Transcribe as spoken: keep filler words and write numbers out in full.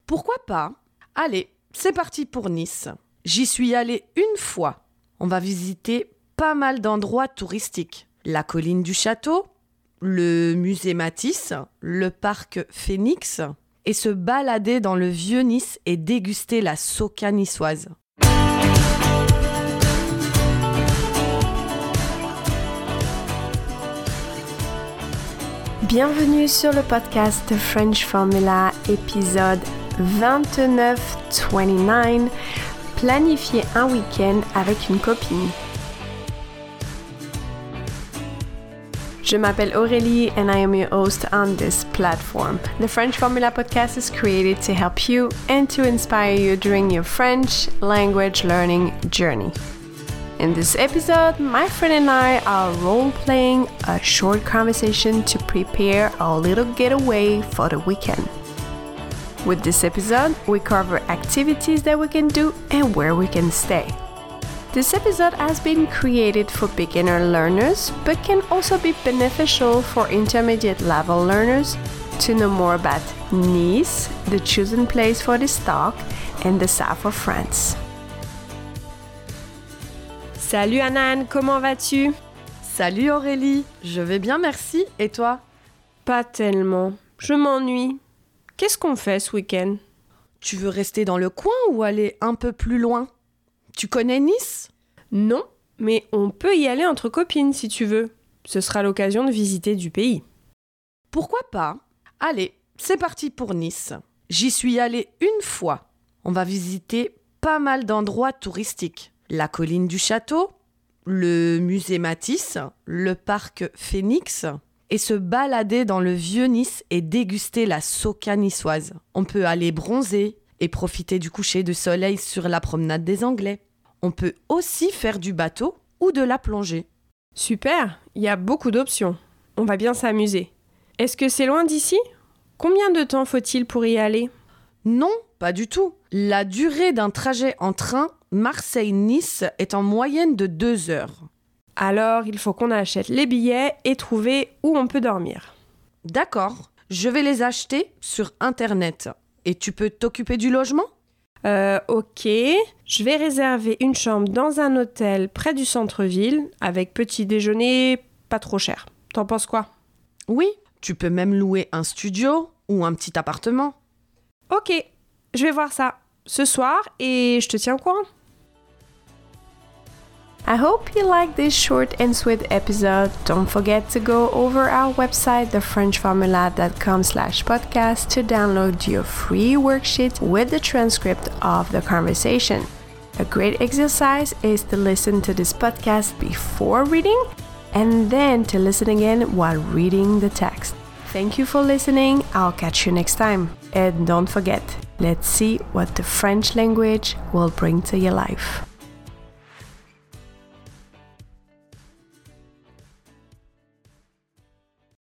Pourquoi pas? Allez, c'est parti pour Nice. J'y suis allée une fois. On va visiter pas mal d'endroits touristiques. La colline du château, le musée Matisse, le parc Phénix et se balader dans le vieux Nice et déguster la soca niçoise. Bienvenue sur le podcast The French Formula, épisode vingt-neuf vingt-neuf, planifier un week-end avec une copine. Je m'appelle Aurélie and I am your host on this platform. The French Formula podcast is created to help you and to inspire you during your French language learning journey. In this episode, my friend and I are role-playing a short conversation to prepare our little getaway for the weekend. With this episode, we cover activities that we can do and where we can stay. This episode has been created for beginner learners, but can also be beneficial for intermediate level learners to know more about Nice, the chosen place for this talk, and the south of France. Salut Anan, comment vas-tu? Salut Aurélie, je vais bien merci, et toi? Pas tellement, je m'ennuie. Qu'est-ce qu'on fait ce week-end? Tu veux rester dans le coin ou aller un peu plus loin? Tu connais Nice? Non, mais on peut y aller entre copines si tu veux. Ce sera l'occasion de visiter du pays. Pourquoi pas? Allez, c'est parti pour Nice. J'y suis allée une fois. On va visiter pas mal d'endroits touristiques. La colline du château, le musée Matisse, le parc Phénix et se balader dans le vieux Nice et déguster la soca niçoise. On peut aller bronzer et profiter du coucher de soleil sur la promenade des Anglais. On peut aussi faire du bateau ou de la plongée. Super, il y a beaucoup d'options. On va bien s'amuser. Est-ce que c'est loin d'ici? Combien de temps faut-il pour y aller? Non, pas du tout. La durée d'un trajet en train Marseille-Nice est en moyenne de deux heures. Alors, il faut qu'on achète les billets et trouver où on peut dormir. D'accord, je vais les acheter sur Internet. Et tu peux t'occuper du logement? Euh, ok. Je vais réserver une chambre dans un hôtel près du centre-ville avec petit déjeuner pas trop cher. T'en penses quoi? Oui, tu peux même louer un studio ou un petit appartement. Ok, je vais voir ça ce soir et je te tiens au courant. I hope you like this short and sweet episode. Don't forget to go over our website, the french formula dot com slash podcast, to download your free worksheet with the transcript of the conversation. A great exercise is to listen to this podcast before reading and then to listen again while reading the text. Thank you for listening. I'll catch you next time. And don't forget, let's see what the French language will bring to your life.